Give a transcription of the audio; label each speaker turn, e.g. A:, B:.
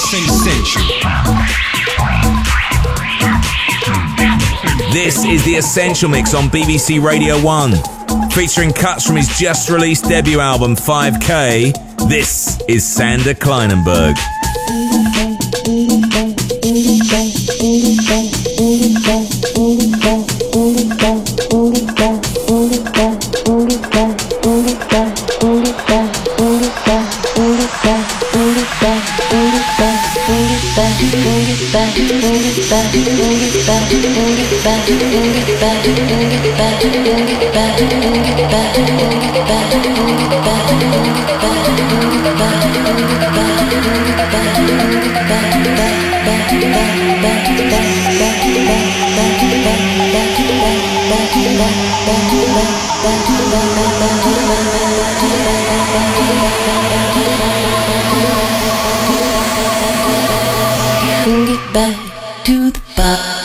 A: Essential.
B: This is the Essential Mix on BBC Radio 1, featuring cuts from his just released debut album 5K. This is Sander Kleinenberg.
C: Bring it back to the bar.